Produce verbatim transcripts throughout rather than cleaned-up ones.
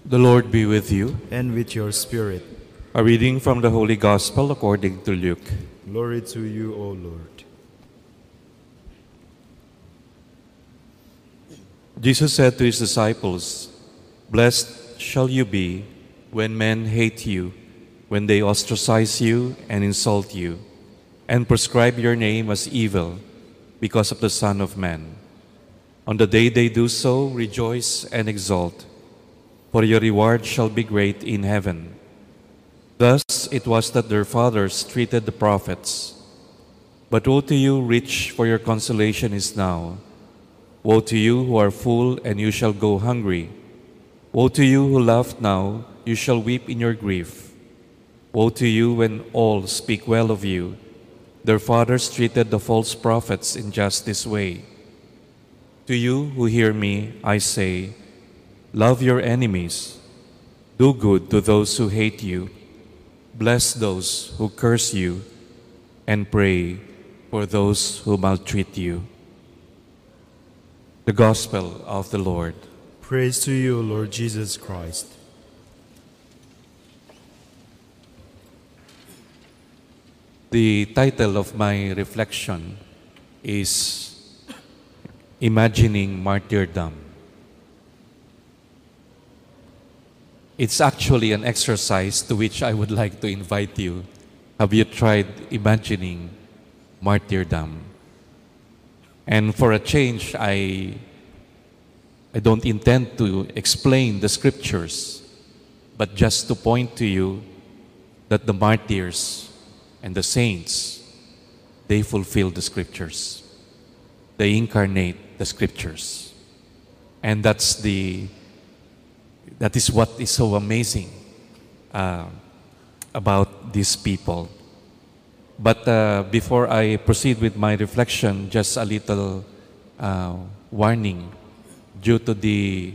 The Lord be with you. and with your spirit. A reading from the Holy Gospel according to Luke. Glory to you, O Lord. Jesus said to his disciples, "Blessed shall you be when men hate you, when they ostracize you and insult you, and prescribe your name as evil because of the Son of Man. On the day they do so, rejoice and exult, for your reward shall be great in heaven. Thus it was that their fathers treated the prophets. But woe to you, rich, for your consolation is now. Woe to you who are full, and you shall go hungry. Woe to you who laugh now, you shall weep in your grief. Woe to you when all speak well of you. Their fathers treated the false prophets in just this way. To you who hear me, I say, love your enemies. Do good to those who hate you. Bless those who curse you, and pray for those who maltreat you." The Gospel of the Lord. Praise to you, Lord Jesus Christ. The title of my reflection is Imagining Martyrdom. It's actually an exercise to which I would like to invite you. Have you tried imagining martyrdom? And for a change, I, I don't intend to explain the scriptures, but just to point to you that the martyrs and the saints, they fulfill the scriptures. They incarnate the scriptures. And that's the that is what is so amazing uh, about these people. But uh, before I proceed with my reflection, just a little uh, warning. Due to the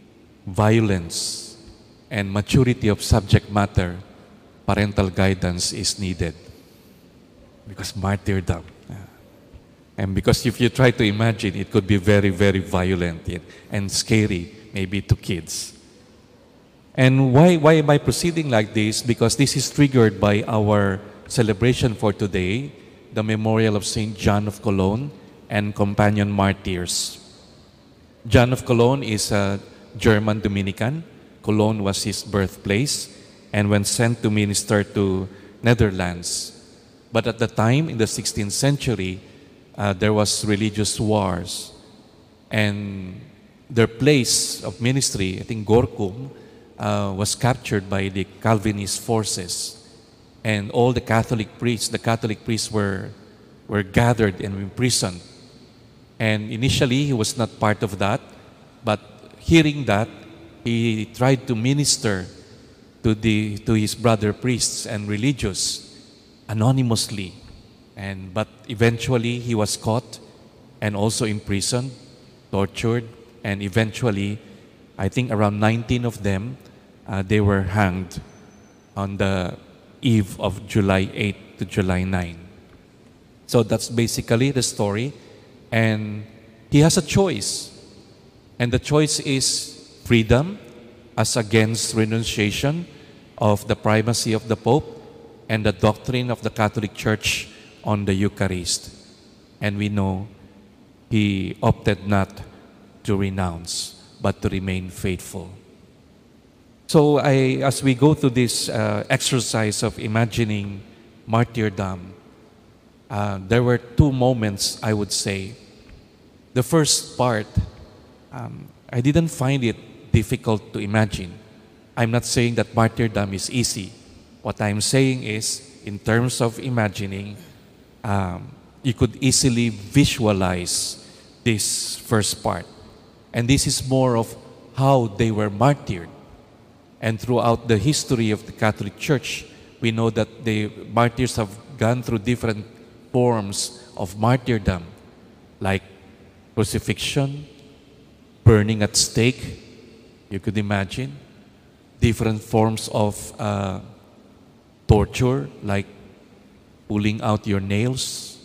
violence and maturity of subject matter, parental guidance is needed. Because martyrdom. uh, And because if you try to imagine, it could be very, very violent and scary, maybe to kids. And why, why am I proceeding like this? Because this is triggered by our celebration for today, the memorial of Saint John of Cologne and companion martyrs. John of Cologne is a German Dominican. Cologne was his birthplace and when sent to minister to Netherlands. But at the time, in the sixteenth century, uh, there was religious wars. And their place of ministry, I think Gorkum, Uh, was captured by the Calvinist forces, and all the Catholic priests, the Catholic priests were were gathered and imprisoned. And initially, he was not part of that, but hearing that, he tried to minister to the to his brother priests and religious anonymously, and but eventually he was caught and also imprisoned, tortured, and eventually, I think around nineteen of them. Uh, they were hanged on the eve of July eighth to July ninth. So that's basically the story. And he has a choice. And the choice is freedom as against renunciation of the primacy of the Pope and the doctrine of the Catholic Church on the Eucharist. And we know he opted not to renounce, but to remain faithful. So I, as we go through this uh, exercise of imagining martyrdom, uh, there were two moments, I would say. The first part, um, I didn't find it difficult to imagine. I'm not saying that martyrdom is easy. What I'm saying is, in terms of imagining, um, you could easily visualize this first part. And this is more of how they were martyred. And throughout the history of the Catholic Church, we know that the martyrs have gone through different forms of martyrdom, like crucifixion, burning at stake, you could imagine, different forms of uh, torture, like pulling out your nails,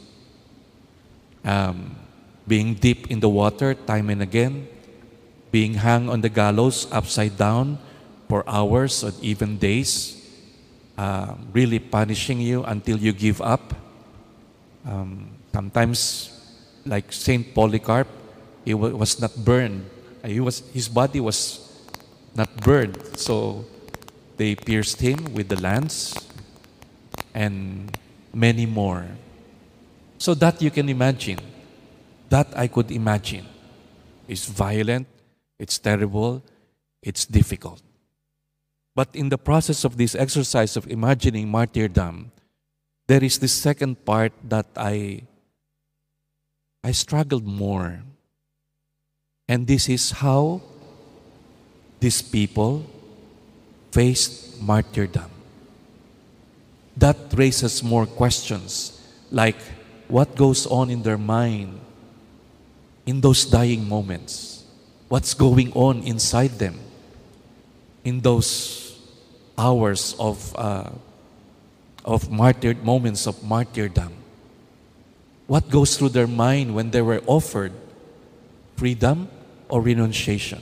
um, being dipped in the water time and again, being hung on the gallows upside down for hours or even days, uh, really punishing you until you give up. Um, sometimes, like Saint Polycarp, he wa- was not burned. Uh, He was, his body was not burned, so they pierced him with the lance, and many more. So that you can imagine, that I could imagine. It's violent, it's terrible, it's difficult. But in the process of this exercise of imagining martyrdom, there is this second part that I I struggled more. And this is how these people faced martyrdom. That raises more questions, like what goes on in their mind in those dying moments? What's going on inside them in those hours of uh, of martyr moments of martyrdom? What goes through their mind when they were offered freedom or renunciation?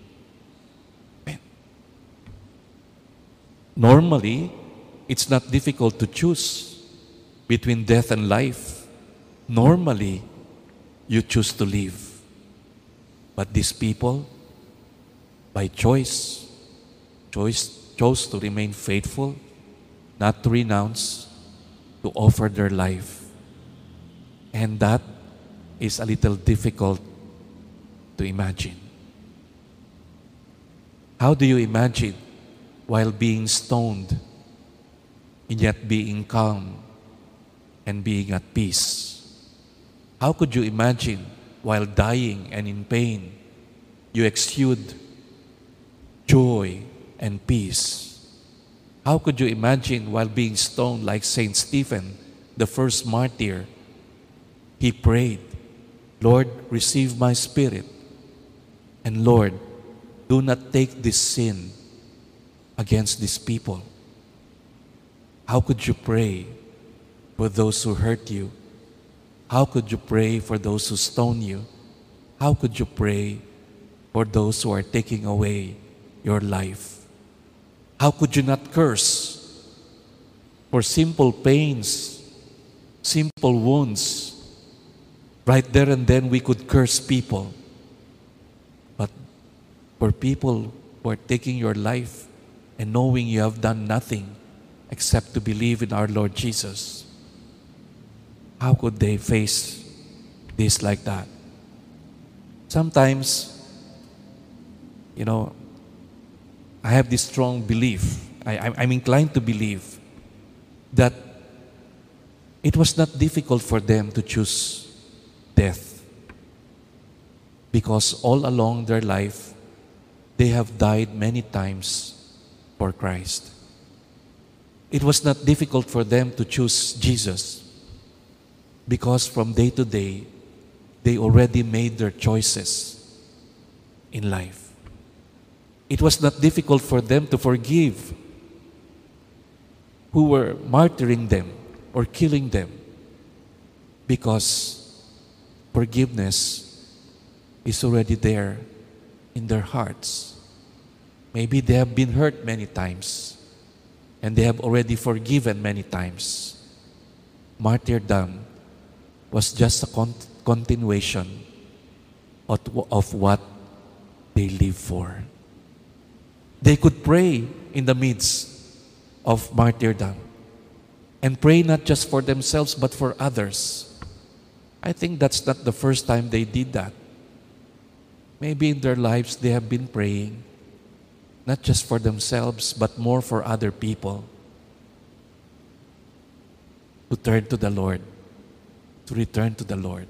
Normally, it's not difficult to choose between death and life. Normally, you choose to live. But these people, by choice, choice chose to remain faithful, not to renounce, to offer their life. And that is a little difficult to imagine. How do you imagine while being stoned and yet being calm and being at peace? How could you imagine while dying and in pain, you exude joy and peace? How could you imagine while being stoned like Saint Stephen, the first martyr, he prayed, Lord, receive my spirit. And Lord, do not take this sin against these people. How could you pray for those who hurt you? How could you pray for those who stone you? How could you pray for those who are taking away your life? How could you not curse for simple pains, simple wounds? Right there and then we could curse people. But for people who are taking your life and knowing you have done nothing except to believe in our Lord Jesus, how could they face this like that? Sometimes, you know, I have this strong belief, I, I'm I'm inclined to believe that it was not difficult for them to choose death, because all along their life, they have died many times for Christ. It was not difficult for them to choose Jesus, because from day to day, they already made their choices in life. It was not difficult for them to forgive who were martyring them or killing them, because forgiveness is already there in their hearts. Maybe they have been hurt many times and they have already forgiven many times. Martyrdom was just a con- continuation of, of what they live for. They could pray in the midst of martyrdom and pray not just for themselves but for others. I think that's not the first time they did that. Maybe in their lives they have been praying not just for themselves but more for other people to turn to the Lord, to return to the Lord.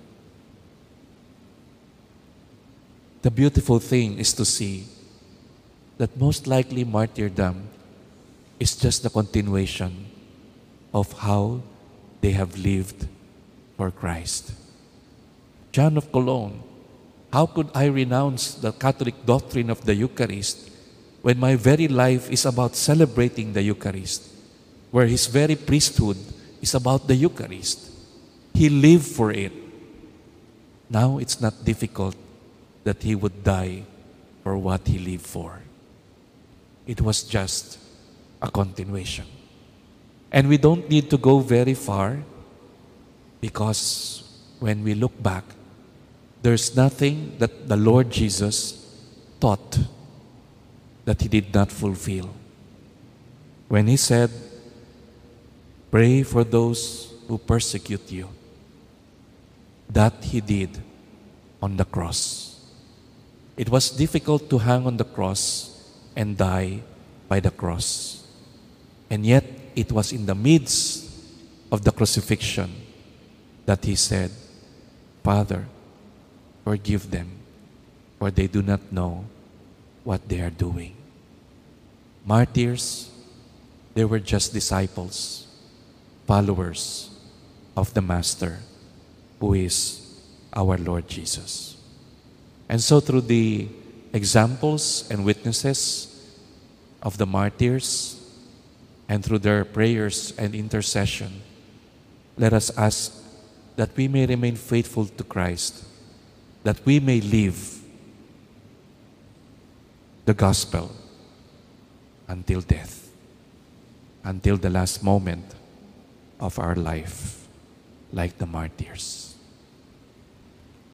The beautiful thing is to see that most likely martyrdom is just the continuation of how they have lived for Christ. John of Cologne, how could I renounce the Catholic doctrine of the Eucharist when my very life is about celebrating the Eucharist, where his very priesthood is about the Eucharist? He lived for it. Now it's not difficult that he would die for what he lived for. It was just a continuation. And we don't need to go very far, because when we look back, there's nothing that the Lord Jesus taught that he did not fulfill. When he said, "Pray for those who persecute you," that he did on the cross. It was difficult to hang on the cross and die by the cross. And yet, it was in the midst of the crucifixion that he said, "Father, forgive them, for they do not know what they are doing." Martyrs, they were just disciples, followers of the Master, who is our Lord Jesus. And so through the examples and witnesses of the martyrs, and through their prayers and intercession, let us ask that we may remain faithful to Christ, that we may live the gospel until death, until the last moment of our life, like the martyrs.